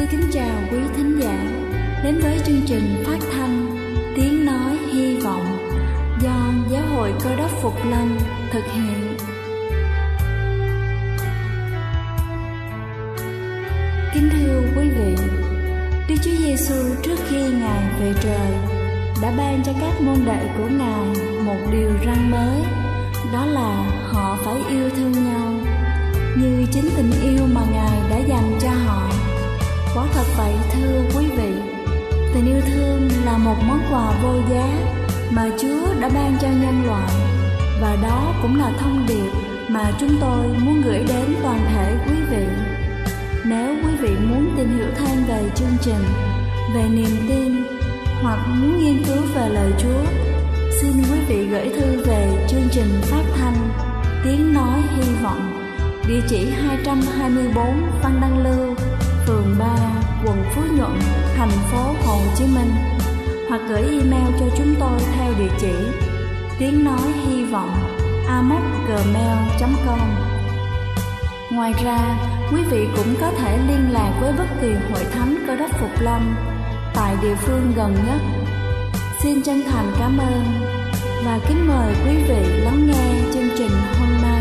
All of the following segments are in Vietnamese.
kính chào quý thính giả đến với chương trình phát thanh Tiếng Nói Hy Vọng do Giáo hội Cơ Đốc Phục Lâm thực hiện. Kính thưa quý vị, Đức Chúa Giêsu trước khi Ngài về trời đã ban cho các môn đệ của Ngài một điều răn mới, đó là họ phải yêu thương nhau như chính tình yêu mà Ngài đã dành cho họ. Quả thật vậy thưa quý vị, tình yêu thương là một món quà vô giá mà Chúa đã ban cho nhân loại, và đó cũng là thông điệp mà chúng tôi muốn gửi đến toàn thể quý vị. Nếu quý vị muốn tìm hiểu thêm về chương trình, về niềm tin hoặc muốn nghiên cứu về lời Chúa, xin quý vị gửi thư về chương trình phát thanh Tiếng Nói Hy Vọng, địa chỉ 224 Văn Đăng Lưu, phường 3, quận Phú Nhuận, thành phố Hồ Chí Minh, hoặc gửi email cho chúng tôi theo địa chỉ tiếng nói hy vọng amos@gmail.com. Ngoài ra, quý vị cũng có thể liên lạc với bất kỳ hội thánh Cơ Đốc Phục Lâm tại địa phương gần nhất. Xin chân thành cảm ơn và kính mời quý vị lắng nghe chương trình hôm nay.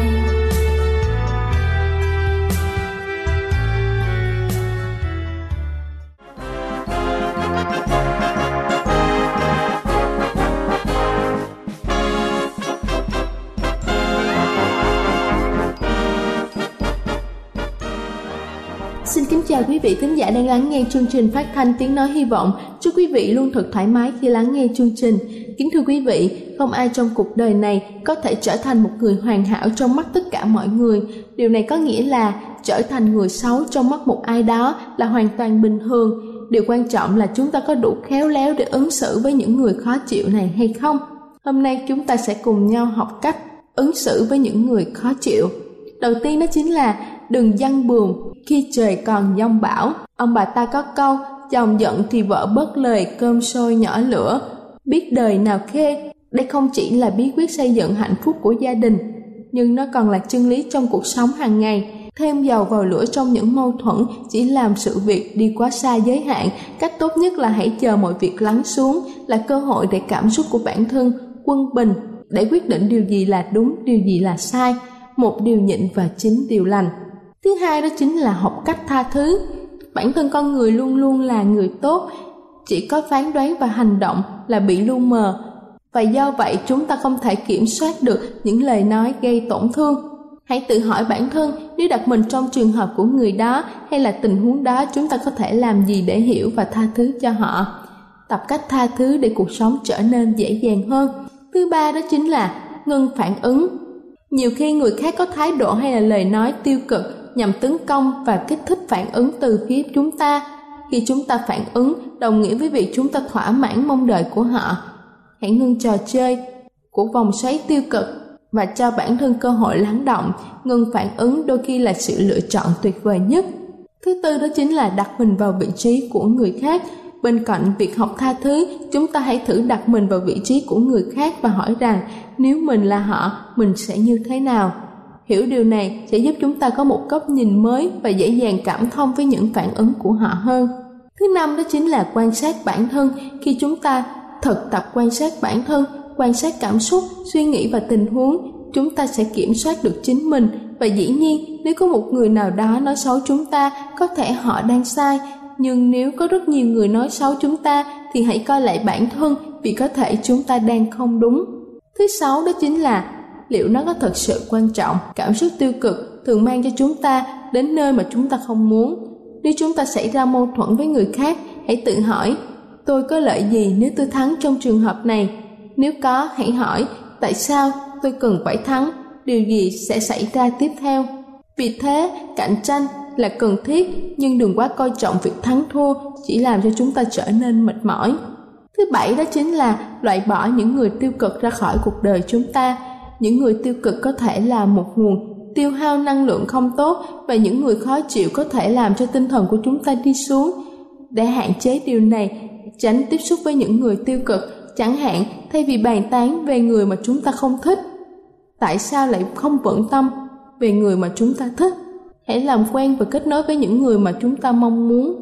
Xin kính chào quý vị thính giả đang lắng nghe chương trình phát thanh Tiếng Nói Hy Vọng. Chúc quý vị luôn thật thoải mái khi lắng nghe chương trình. Kính thưa quý vị, không ai trong cuộc đời này có thể trở thành một người hoàn hảo trong mắt tất cả mọi người. Điều này có nghĩa là trở thành người xấu trong mắt một ai đó là hoàn toàn bình thường. Điều quan trọng là chúng ta có đủ khéo léo để ứng xử với những người khó chịu này hay không. Hôm nay chúng ta sẽ cùng nhau học cách ứng xử với những người khó chịu. Đầu tiên đó chính là đừng giăng buồm khi trời còn giông bão. Ông bà ta có câu, chồng giận thì vợ bớt lời, cơm sôi nhỏ lửa, biết đời nào khê. Đây không chỉ là bí quyết xây dựng hạnh phúc của gia đình, nhưng nó còn là chân lý trong cuộc sống hàng ngày. Thêm dầu vào lửa trong những mâu thuẫn chỉ làm sự việc đi quá xa giới hạn. Cách tốt nhất là hãy chờ mọi việc lắng xuống, là cơ hội để cảm xúc của bản thân quân bình, để quyết định điều gì là đúng, điều gì là sai, một điều nhịn và 9 điều lành. Thứ hai đó chính là học cách tha thứ. Bản thân con người luôn luôn là người tốt, chỉ có phán đoán và hành động là bị lu mờ, và do vậy chúng ta không thể kiểm soát được những lời nói gây tổn thương. Hãy tự hỏi bản thân, nếu đặt mình trong trường hợp của người đó hay là tình huống đó, chúng ta có thể làm gì để hiểu và tha thứ cho họ. Tập cách tha thứ để cuộc sống trở nên dễ dàng hơn. Thứ ba đó chính là ngưng phản ứng. Nhiều khi người khác có thái độ hay là lời nói tiêu cực nhằm tấn công và kích thích phản ứng từ phía chúng ta. Khi chúng ta phản ứng, đồng nghĩa với việc chúng ta thỏa mãn mong đợi của họ. Hãy ngưng trò chơi của vòng xoáy tiêu cực và cho bản thân cơ hội lắng động. Ngưng phản ứng đôi khi là sự lựa chọn tuyệt vời nhất. Thứ tư đó chính là đặt mình vào vị trí của người khác. Bên cạnh việc học tha thứ, chúng ta hãy thử đặt mình vào vị trí của người khác và hỏi rằng nếu mình là họ, mình sẽ như thế nào. Hiểu điều này sẽ giúp chúng ta có một góc nhìn mới và dễ dàng cảm thông với những phản ứng của họ hơn. Thứ năm đó chính là quan sát bản thân. Khi chúng ta thực tập quan sát bản thân, quan sát cảm xúc, suy nghĩ và tình huống, chúng ta sẽ kiểm soát được chính mình. Và dĩ nhiên, nếu có một người nào đó nói xấu chúng ta, có thể họ đang sai. Nhưng nếu có rất nhiều người nói xấu chúng ta thì hãy coi lại bản thân, vì có thể chúng ta đang không đúng. Thứ sáu đó chính là liệu nó có thật sự quan trọng. Cảm xúc tiêu cực thường mang cho chúng ta đến nơi mà chúng ta không muốn. Nếu chúng ta xảy ra mâu thuẫn với người khác, hãy tự hỏi, tôi có lợi gì nếu tôi thắng trong trường hợp này? Nếu có, hãy hỏi, tại sao tôi cần phải thắng? Điều gì sẽ xảy ra tiếp theo? Vì thế, cạnh tranh là cần thiết, nhưng đừng quá coi trọng việc thắng thua, chỉ làm cho chúng ta trở nên mệt mỏi. Thứ bảy đó chính là loại bỏ những người tiêu cực ra khỏi cuộc đời chúng ta. Những người tiêu cực có thể là một nguồn tiêu hao năng lượng không tốt, và những người khó chịu có thể làm cho tinh thần của chúng ta đi xuống. Để hạn chế điều này, tránh tiếp xúc với những người tiêu cực, chẳng hạn thay vì bàn tán về người mà chúng ta không thích, tại sao lại không bận tâm về người mà chúng ta thích? Hãy làm quen và kết nối với những người mà chúng ta mong muốn.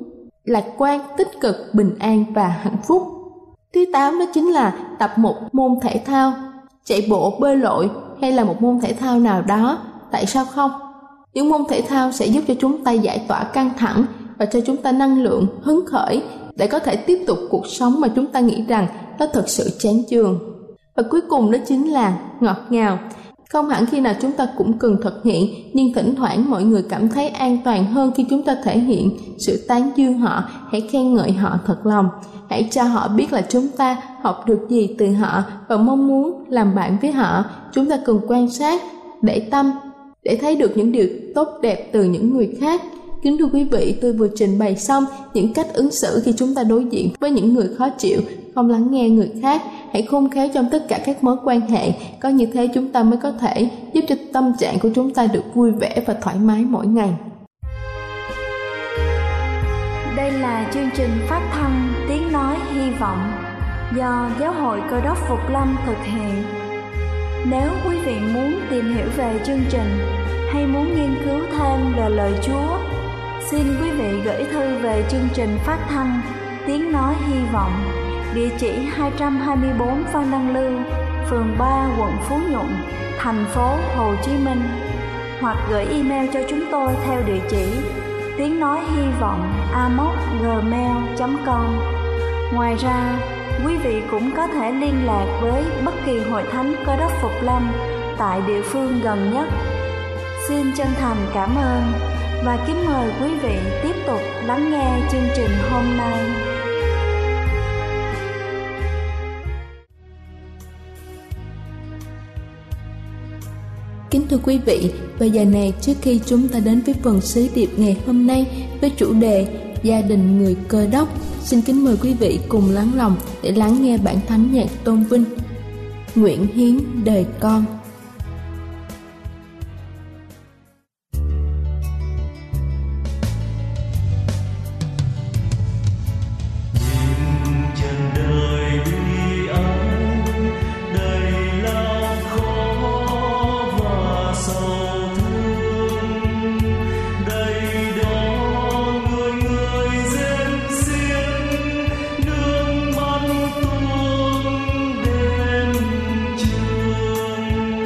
lạc quan, tích cực, bình an và hạnh phúc. Thứ 8 đó chính là tập một môn thể thao, chạy bộ, bơi lội hay là một môn thể thao nào đó. Tại sao không? Những môn thể thao sẽ giúp cho chúng ta giải tỏa căng thẳng và cho chúng ta năng lượng, hứng khởi để có thể tiếp tục cuộc sống mà chúng ta nghĩ rằng nó thật sự chán chường. Và cuối cùng đó chính là ngọt ngào. Không hẳn khi nào chúng ta cũng cần thực hiện, nhưng thỉnh thoảng mọi người cảm thấy an toàn hơn khi chúng ta thể hiện sự tán dương họ. Hãy khen ngợi họ thật lòng. Hãy cho họ biết là chúng ta học được gì từ họ và mong muốn làm bạn với họ. Chúng ta cần quan sát, để tâm, để thấy được những điều tốt đẹp từ những người khác. Kính thưa quý vị, tôi vừa trình bày xong những cách ứng xử khi chúng ta đối diện với những người khó chịu, không lắng nghe người khác. Hãy khôn khéo trong tất cả các mối quan hệ, có như thế chúng ta mới có thể giúp cho tâm trạng của chúng ta được vui vẻ và thoải mái mỗi ngày. Đây là chương trình phát thanh Tiếng Nói Hy Vọng do Giáo hội Cơ đốc Phục Lâm thực hiện. Nếu quý vị muốn tìm hiểu về chương trình hay muốn nghiên cứu thêm về lời Chúa, xin quý vị gửi thư về chương trình phát thanh Tiếng Nói Hy Vọng, địa chỉ 224 Phan Đăng Lưu, phường 3, quận Phú Nhuận, thành phố Hồ Chí Minh, hoặc gửi email cho chúng tôi theo địa chỉ tiếng nói hy vọng amos@gmail.com. Ngoài ra, quý vị cũng có thể liên lạc với bất kỳ hội thánh Cơ đốc Phục Lâm tại địa phương gần nhất. Xin chân thành cảm ơn và kính mời quý vị tiếp tục lắng nghe chương trình hôm nay. Kính thưa quý vị, bây giờ này trước khi chúng ta đến với phần sứ điệp ngày hôm nay với chủ đề Gia đình người Cơ đốc, xin kính mời quý vị cùng lắng lòng để lắng nghe bản thánh nhạc tôn vinh Nguyện hiến đời con. Hãy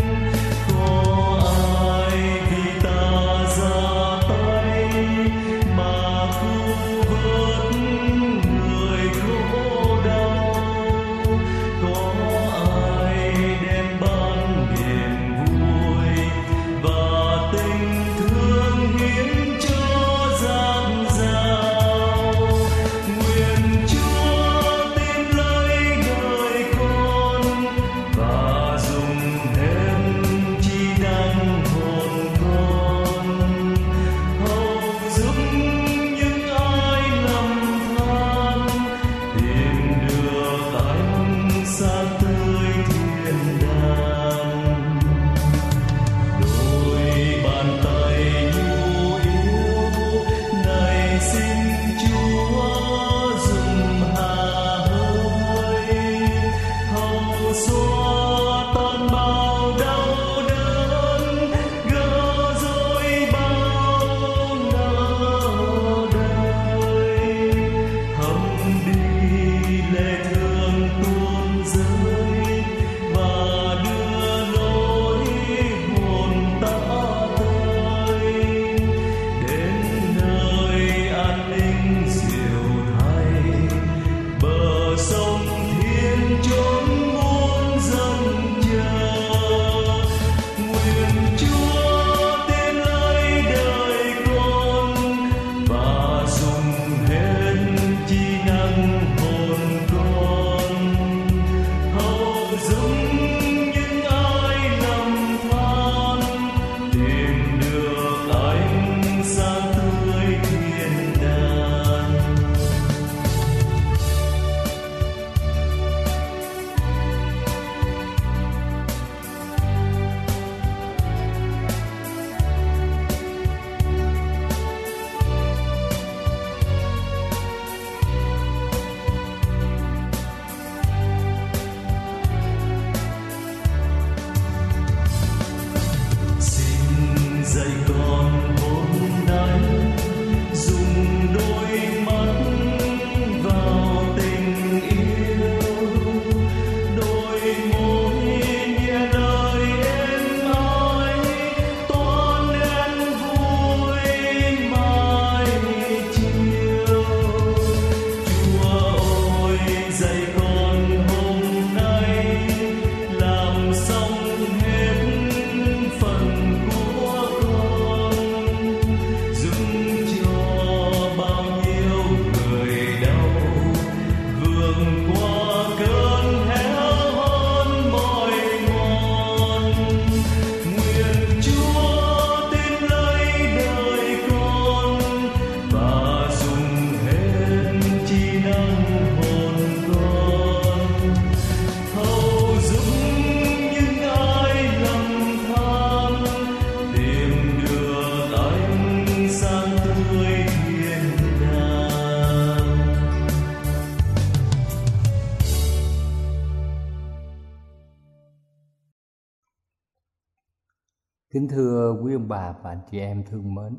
Kính thưa quý ông bà và anh chị em thương mến,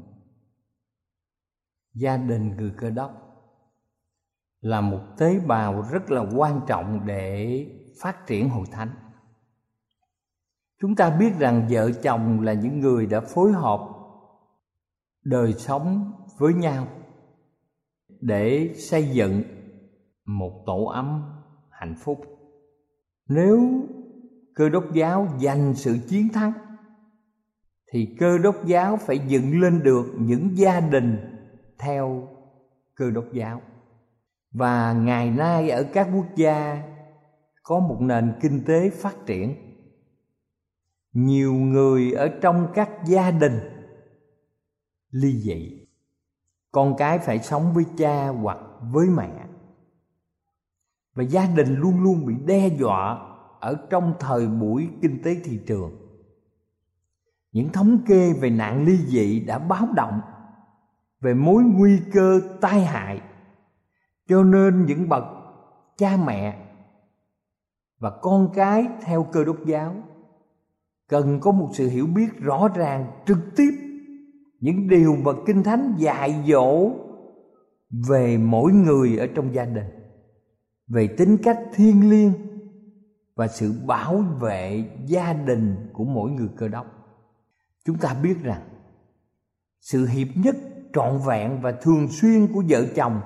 gia đình người Cơ Đốc là một tế bào rất là quan trọng để phát triển hội thánh. Chúng ta biết rằng vợ chồng là những người đã phối hợp đời sống với nhau để xây dựng một tổ ấm hạnh phúc. Nếu Cơ Đốc giáo giành sự chiến thắng thì Cơ Đốc giáo phải dựng lên được những gia đình theo Cơ Đốc giáo. Và ngày nay ở các quốc gia có một nền kinh tế phát triển, nhiều người ở trong các gia đình ly dị, con cái phải sống với cha hoặc với mẹ, và gia đình luôn luôn bị đe dọa ở trong thời buổi kinh tế thị trường. Những thống kê về nạn ly dị đã báo động về mối nguy cơ tai hại, cho nên những bậc cha mẹ và con cái theo Cơ Đốc giáo cần có một sự hiểu biết rõ ràng trực tiếp những điều mà Kinh Thánh dạy dỗ về mỗi người ở trong gia đình, về tính cách thiêng liêng và sự bảo vệ gia đình của mỗi người Cơ Đốc. Chúng ta biết rằng sự hiệp nhất trọn vẹn và thường xuyên của vợ chồng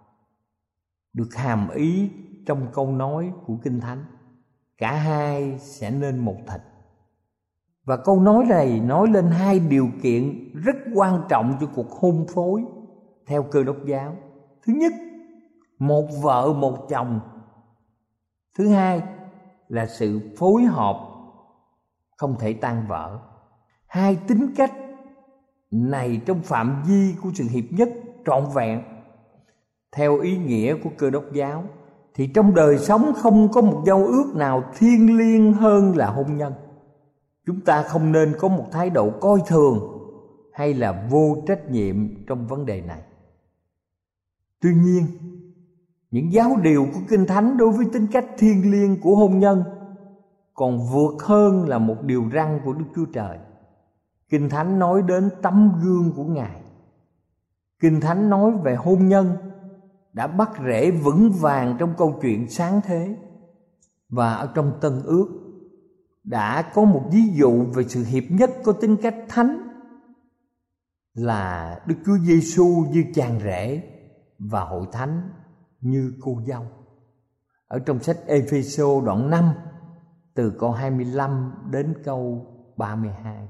được hàm ý trong câu nói của Kinh Thánh: cả hai sẽ nên một thịt. Và câu nói này nói lên hai điều kiện rất quan trọng cho cuộc hôn phối theo Cơ Đốc giáo. Thứ nhất, một vợ một chồng. Thứ hai là sự phối hợp không thể tan vỡ. Hai tính cách này trong phạm vi của sự hiệp nhất trọn vẹn theo ý nghĩa của Cơ Đốc giáo thì trong đời sống không có một giao ước nào thiêng liêng hơn là hôn nhân. Chúng ta không nên có một thái độ coi thường hay là vô trách nhiệm trong vấn đề này. Tuy nhiên, những giáo điều của Kinh Thánh đối với tính cách thiêng liêng của hôn nhân còn vượt hơn là một điều răn của Đức Chúa Trời. Kinh Thánh nói đến tấm gương của Ngài. Kinh Thánh nói về hôn nhân đã bắt rễ vững vàng trong câu chuyện sáng thế, và ở trong Tân Ước đã có một ví dụ về sự hiệp nhất có tính cách thánh là Đức Chúa Giêsu như chàng rể và hội thánh như cô dâu. Ở trong sách Ê-phê-sô đoạn 5 từ câu 25 đến câu 32.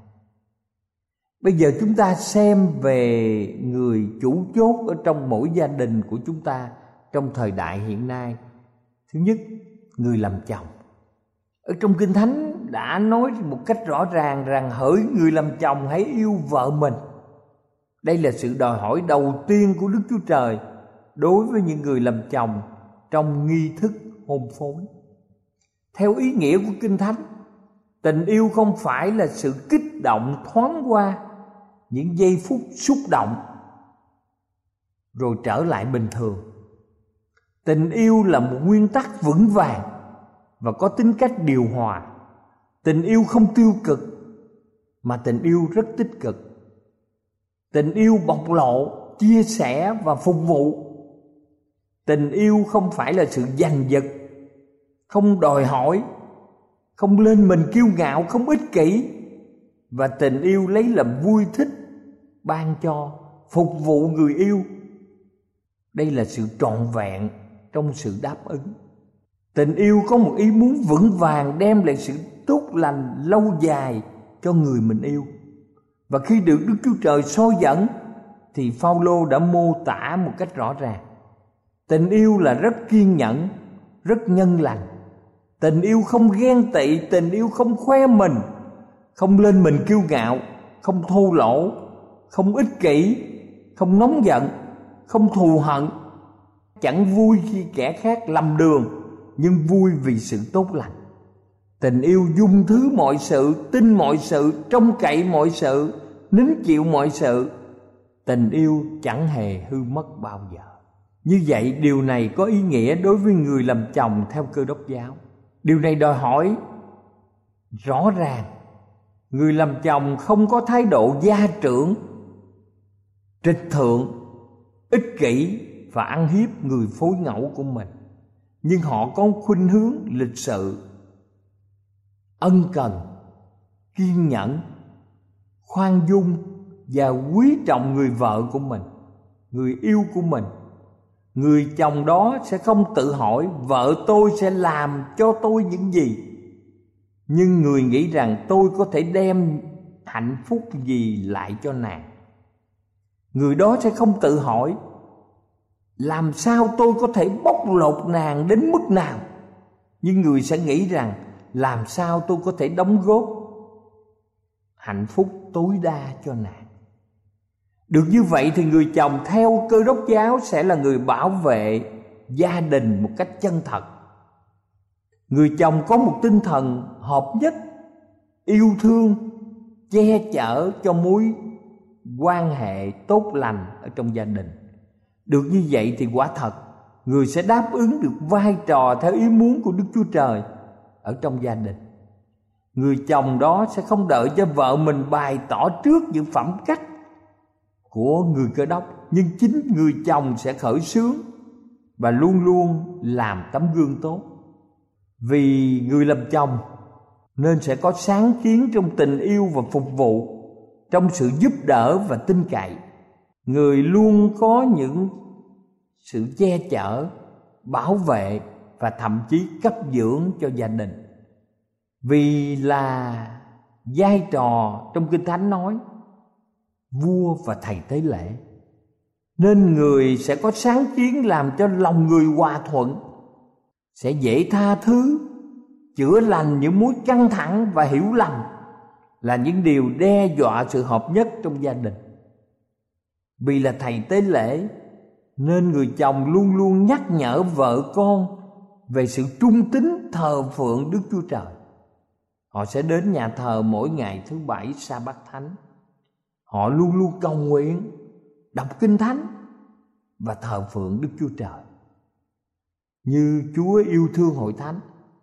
Bây giờ chúng ta xem về người chủ chốt ở trong mỗi gia đình của chúng ta trong thời đại hiện nay. Thứ nhất, người làm chồng. Ở trong Kinh Thánh đã nói một cách rõ ràng rằng hỡi người làm chồng hãy yêu vợ mình. Đây là sự đòi hỏi đầu tiên của Đức Chúa Trời đối với những người làm chồng trong nghi thức hôn phối. Theo ý nghĩa của Kinh Thánh, tình yêu không phải là sự kích động thoáng qua những giây phút xúc động rồi trở lại bình thường. Tình yêu là một nguyên tắc vững vàng và có tính cách điều hòa. Tình yêu không tiêu cực mà tình yêu rất tích cực. Tình yêu bộc lộ, chia sẻ và phục vụ. Tình yêu không phải là sự giành giật, không đòi hỏi, không lên mình kiêu ngạo, không ích kỷ. Và tình yêu lấy làm vui thích, ban cho, phục vụ người yêu. Đây là sự trọn vẹn trong sự đáp ứng. Tình yêu có một ý muốn vững vàng đem lại sự tốt lành lâu dài cho người mình yêu. Và khi được Đức Chúa Trời soi dẫn thì Phao-lô đã mô tả một cách rõ ràng. Tình yêu là rất kiên nhẫn, rất nhân lành. Tình yêu không ghen tị, tình yêu không khoe mình, không lên mình kiêu ngạo, không thô lỗ, không ích kỷ, không nóng giận, không thù hận. Chẳng vui khi kẻ khác lầm đường, nhưng vui vì sự tốt lành. Tình yêu dung thứ mọi sự, tin mọi sự, trông cậy mọi sự, nín chịu mọi sự. Tình yêu chẳng hề hư mất bao giờ. Như vậy điều này có ý nghĩa đối với người làm chồng theo Cơ Đốc giáo. Điều này đòi hỏi rõ ràng Người làm chồng không có thái độ gia trưởng, trịch thượng, ích kỷ và ăn hiếp người phối ngẫu của mình, nhưng họ có khuynh hướng lịch sự, ân cần, kiên nhẫn, khoan dung và quý trọng người vợ của mình, người yêu của mình. Người chồng đó sẽ không tự hỏi vợ tôi sẽ làm cho tôi những gì, nhưng người nghĩ rằng tôi có thể đem hạnh phúc gì lại cho nàng. Người đó sẽ không tự hỏi làm sao tôi có thể bóc lột nàng đến mức nào, nhưng người sẽ nghĩ rằng làm sao tôi có thể đóng góp hạnh phúc tối đa cho nàng. Được như vậy thì người chồng theo Cơ Đốc giáo sẽ là người bảo vệ gia đình một cách chân thật. Người chồng có một tinh thần hợp nhất, yêu thương, che chở cho mối quan hệ tốt lành ở trong gia đình. Được như vậy thì quả thật người sẽ đáp ứng được vai trò theo ý muốn của Đức Chúa Trời ở trong gia đình. Người chồng đó sẽ không đợi cho vợ mình bày tỏ trước những phẩm cách của người Cơ Đốc, nhưng chính người chồng sẽ khởi xướng và luôn luôn làm tấm gương tốt. Vì người làm chồng nên sẽ có sáng kiến trong tình yêu và phục vụ, trong sự giúp đỡ và tin cậy. Người luôn có những sự che chở, bảo vệ và thậm chí cấp dưỡng cho gia đình. Vì là vai trò trong Kinh Thánh nói vua và thầy tế lễ, nên người sẽ có sáng kiến làm cho lòng người hòa thuận, sẽ dễ tha thứ, chữa lành những mối căng thẳng và hiểu lầm, là những điều đe dọa sự hợp nhất trong gia đình. Vì là thầy tế lễ nên người chồng luôn luôn nhắc nhở vợ con về sự trung tín thờ phượng Đức Chúa Trời. Họ sẽ đến nhà thờ mỗi ngày thứ Bảy sa bát thánh. Họ luôn luôn cầu nguyện, đọc Kinh Thánh và thờ phượng Đức Chúa Trời như Chúa yêu thương hội thánh.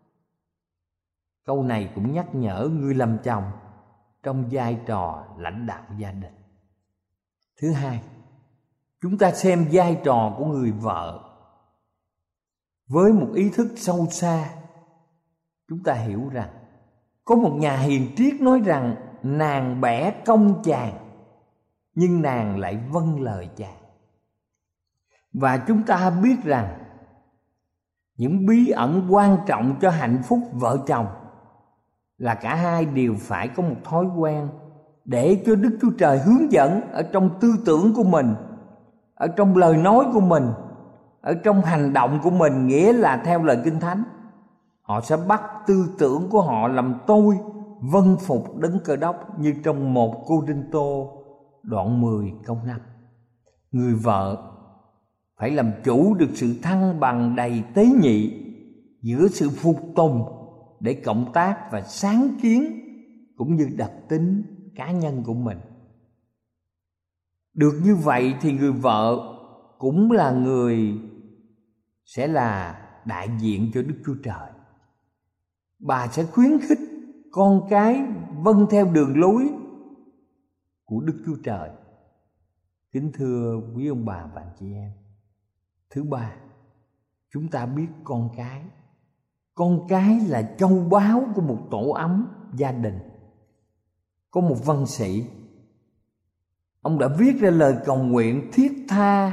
Câu này cũng nhắc nhở người làm chồng trong vai trò lãnh đạo gia đình. Thứ hai, chúng ta xem vai trò của người vợ với một ý thức sâu xa. Chúng ta hiểu rằng có một nhà hiền triết nói rằng nàng bẻ công chàng, nhưng nàng lại vâng lời chàng. Và chúng ta biết rằng những bí ẩn quan trọng cho hạnh phúc vợ chồng là cả hai đều phải có một thói quen để cho Đức Chúa Trời hướng dẫn ở trong tư tưởng của mình, ở trong lời nói của mình, ở trong hành động của mình, nghĩa là theo lời Kinh Thánh. Họ sẽ bắt tư tưởng của họ làm tôi vâng phục Đấng Cơ Đốc, như trong 1 Cô-rinh-tô đoạn 10 câu 5. Người vợ phải làm chủ được sự thăng bằng đầy tế nhị giữa sự phục tùng để cộng tác và sáng kiến cũng như đặc tính cá nhân của mình. Được như vậy thì người vợ cũng là người sẽ là đại diện cho Đức Chúa Trời. Bà sẽ khuyến khích con cái vâng theo đường lối của Đức Chúa Trời. Kính thưa quý ông bà và anh chị em, thứ ba, chúng ta biết con cái là châu báu của một tổ ấm gia đình. Có một văn sĩ, ông đã viết ra lời cầu nguyện thiết tha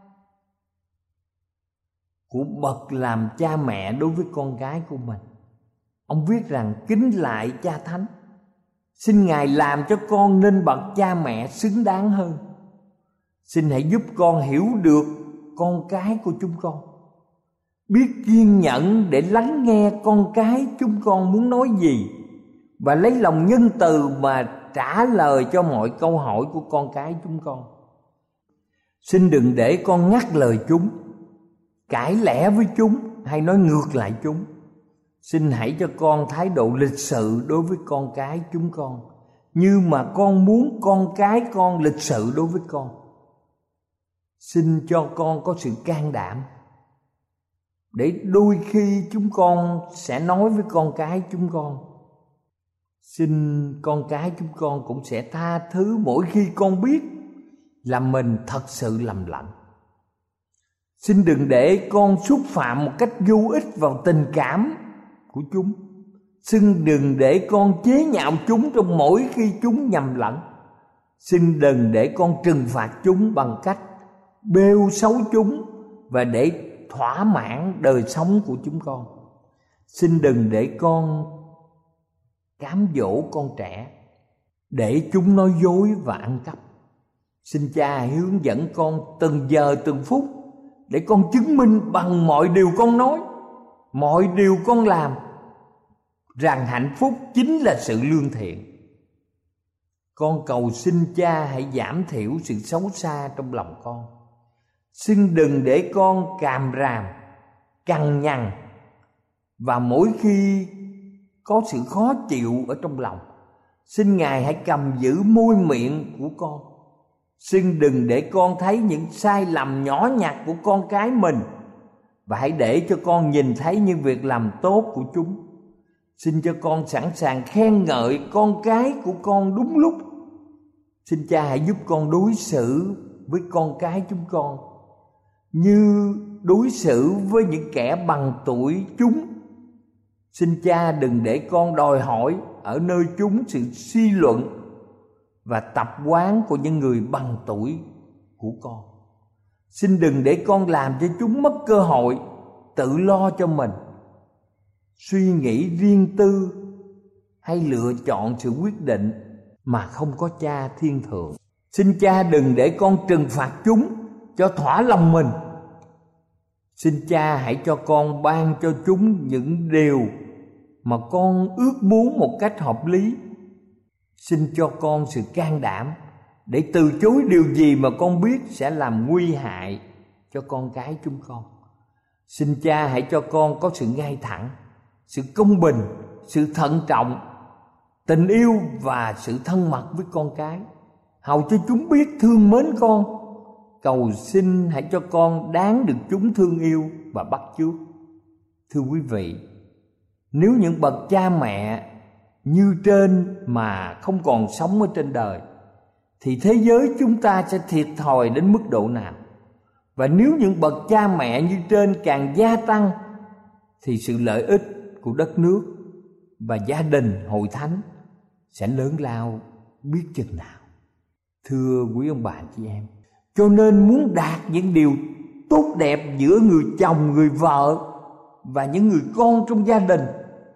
của bậc làm cha mẹ đối với con cái của mình. Ông viết rằng: kính lại Cha Thánh, xin Ngài làm cho con nên bậc cha mẹ xứng đáng hơn. Xin hãy giúp con hiểu được con cái của chúng con, biết kiên nhẫn để lắng nghe con cái chúng con muốn nói gì, và lấy lòng nhân từ mà trả lời cho mọi câu hỏi của con cái chúng con. Xin đừng để con ngắt lời chúng, cãi lẽ với chúng hay nói ngược lại chúng. Xin hãy cho con thái độ lịch sự đối với con cái chúng con, như mà con muốn con cái con lịch sự đối với con. Xin cho con có sự can đảm, để đôi khi chúng con sẽ nói với con cái chúng con: Xin con cái chúng con cũng sẽ tha thứ mỗi khi con biết là mình thật sự lầm lẫn. Xin đừng để con xúc phạm một cách vô ích vào tình cảm của chúng. Xin đừng để con chế nhạo chúng trong mỗi khi chúng nhầm lẫn. Xin đừng để con trừng phạt chúng bằng cách bêu xấu chúng và để thỏa mãn đời sống của chúng con. Xin đừng để con cám dỗ con trẻ để chúng nói dối và ăn cắp. Xin Cha hướng dẫn con từng giờ từng phút để con chứng minh bằng mọi điều con nói, mọi điều con làm rằng hạnh phúc chính là sự lương thiện. Con cầu xin Cha hãy giảm thiểu sự xấu xa trong lòng con. Xin đừng để con càm ràm, cằn nhằn và mỗi khi có sự khó chịu ở trong lòng, xin Ngài hãy cầm giữ môi miệng của con. Xin đừng để con thấy những sai lầm nhỏ nhặt của con cái mình, và hãy để cho con nhìn thấy những việc làm tốt của chúng. Xin cho con sẵn sàng khen ngợi con cái của con đúng lúc. Xin Cha hãy giúp con đối xử với con cái chúng con như đối xử với những kẻ bằng tuổi chúng. Xin Cha đừng để con đòi hỏi ở nơi chúng sự suy luận và tập quán của những người bằng tuổi của con. Xin đừng để con làm cho chúng mất cơ hội tự lo cho mình, suy nghĩ riêng tư hay lựa chọn sự quyết định mà không có Cha thiên thượng. Xin Cha đừng để con trừng phạt chúng cho thỏa lòng mình. Xin Cha hãy cho con ban cho chúng những điều mà con ước muốn một cách hợp lý. Xin cho con sự can đảm để từ chối điều gì mà con biết sẽ làm nguy hại cho con cái chúng con. Xin Cha hãy cho con có sự ngay thẳng, sự công bình, sự thận trọng, tình yêu và sự thân mật với con cái, hầu cho chúng biết thương mến con. Cầu xin hãy cho con đáng được chúng thương yêu và bắt chước. Thưa quý vị, nếu những bậc cha mẹ như trên mà không còn sống ở trên đời, thì thế giới chúng ta sẽ thiệt thòi đến mức độ nào? Và nếu những bậc cha mẹ như trên càng gia tăng, thì sự lợi ích của đất nước và gia đình hội thánh sẽ lớn lao biết chừng nào. Thưa quý ông bà chị em, cho nên muốn đạt những điều tốt đẹp giữa người chồng, người vợ và những người con trong gia đình,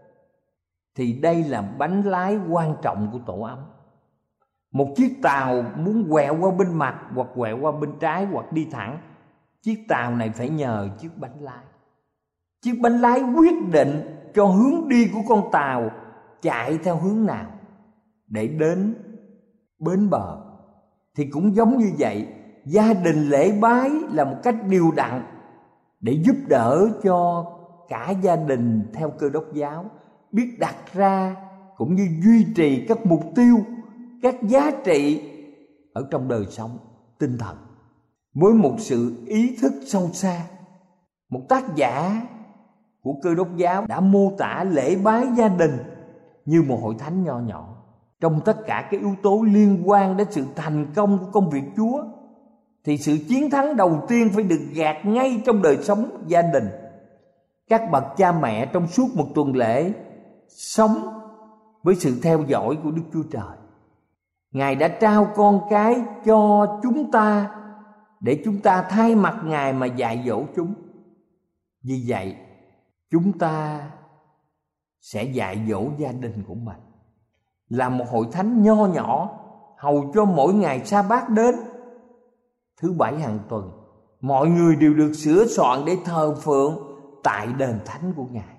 thì đây là bánh lái quan trọng của tổ ấm. Một chiếc tàu muốn quẹo qua bên mặt hoặc quẹo qua bên trái hoặc đi thẳng, chiếc tàu này phải nhờ chiếc bánh lái. Chiếc bánh lái quyết định cho hướng đi của con tàu chạy theo hướng nào để đến bến bờ. Thì cũng giống như vậy, gia đình lễ bái là một cách điều đặn để giúp đỡ cho cả gia đình theo Cơ Đốc giáo biết đặt ra cũng như duy trì các mục tiêu, các giá trị ở trong đời sống tinh thần. Với một sự ý thức sâu xa, một tác giả của Cơ Đốc giáo đã mô tả lễ bái gia đình như một hội thánh nho nhỏ. Trong tất cả các yếu tố liên quan đến sự thành công của công việc Chúa, thì sự chiến thắng đầu tiên phải được gạt ngay trong đời sống gia đình. Các bậc cha mẹ trong suốt một tuần lễ sống với sự theo dõi của Đức Chúa Trời. Ngài đã trao con cái cho chúng ta để chúng ta thay mặt Ngài mà dạy dỗ chúng. Vì vậy, chúng ta sẽ dạy dỗ gia đình của mình. Là một hội thánh nho nhỏ, hầu cho mỗi ngày sa bát đến, thứ bảy hàng tuần, mọi người đều được sửa soạn để thờ phượng tại đền thánh của Ngài.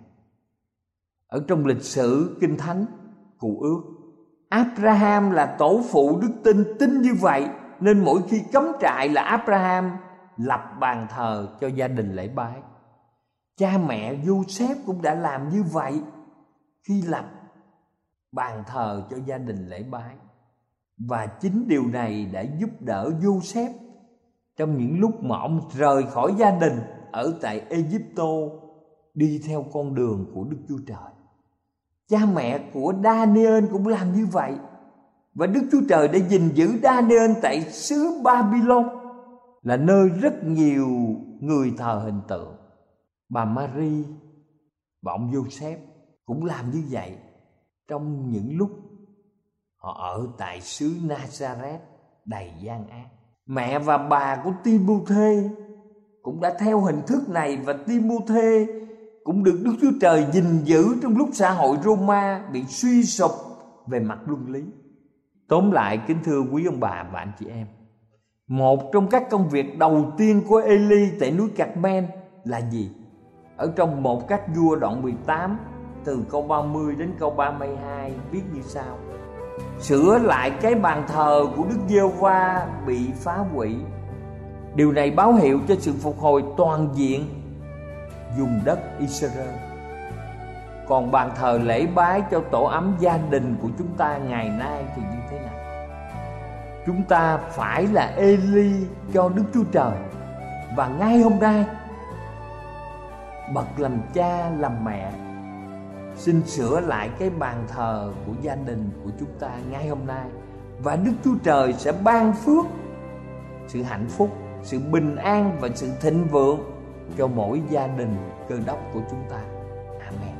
Ở trong lịch sử Kinh Thánh Cựu Ước, Abraham là tổ phụ đức tin như vậy, nên mỗi khi cắm trại là Abraham lập bàn thờ cho gia đình lễ bái. Cha mẹ Giô-xép cũng đã làm như vậy khi lập bàn thờ cho gia đình lễ bái. Và chính điều này đã giúp đỡ Giô-xép trong những lúc mà ông rời khỏi gia đình ở tại Ê-díp-tô, đi theo con đường của Đức Chúa Trời. Cha mẹ của Daniel cũng làm như vậy. Và Đức Chúa Trời đã gìn giữ Daniel tại xứ Babylon, là nơi rất nhiều người thờ hình tượng. Bà Mary và ông Joseph cũng làm như vậy trong những lúc họ ở tại xứ Nazareth đầy gian ác. Mẹ và bà của Timôthê cũng đã theo hình thức này, và Timôthê cũng được Đức Chúa Trời gìn giữ trong lúc xã hội Roma bị suy sụp về mặt luân lý. Tóm lại, kính thưa quý ông bà và anh chị em, một trong các công việc đầu tiên của Eli tại núi Carmel là gì? Ở trong 1 Các Vua đoạn 18 từ câu 30 đến câu 32 viết như sau: sửa lại cái bàn thờ của Đức Giê-hô-va bị phá hủy. Điều này báo hiệu cho sự phục hồi toàn diện vùng đất Israel. Còn bàn thờ lễ bái cho tổ ấm gia đình của chúng ta ngày nay thì như thế nào? Chúng ta phải là Eli cho Đức Chúa Trời. Và ngay hôm nay, bậc làm cha làm mẹ xin sửa lại cái bàn thờ của gia đình của chúng ta ngay hôm nay, và Đức Chúa Trời sẽ ban phước, sự hạnh phúc, sự bình an và sự thịnh vượng cho mỗi gia đình Cơ Đốc của chúng ta. Amen.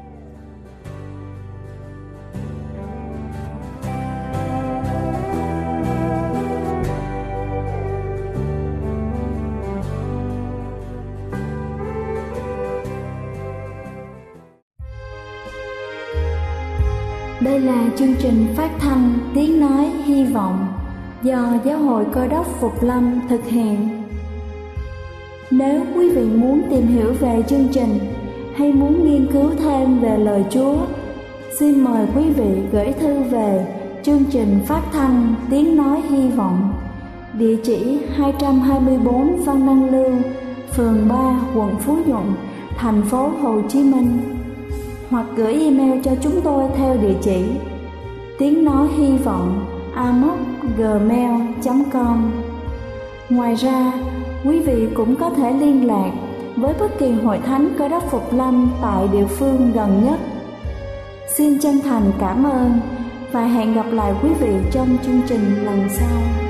Đây là chương trình phát thanh Tiếng Nói Hy Vọng do Giáo hội Cơ Đốc Phục Lâm thực hiện. Nếu quý vị muốn tìm hiểu về chương trình hay muốn nghiên cứu thêm về lời Chúa, xin mời quý vị gửi thư về chương trình phát thanh Tiếng Nói Hy Vọng, địa chỉ 224 Văn Đăng Lưu, phường 3, quận Phú Nhuận, thành phố Hồ Chí Minh, hoặc gửi email cho chúng tôi theo địa chỉ tiếng nói hy vọng amos@gmail.com. Ngoài ra, quý vị cũng có thể liên lạc với bất kỳ hội thánh Cơ Đốc Phục Lâm tại địa phương gần nhất. Xin chân thành cảm ơn và hẹn gặp lại quý vị trong chương trình lần sau.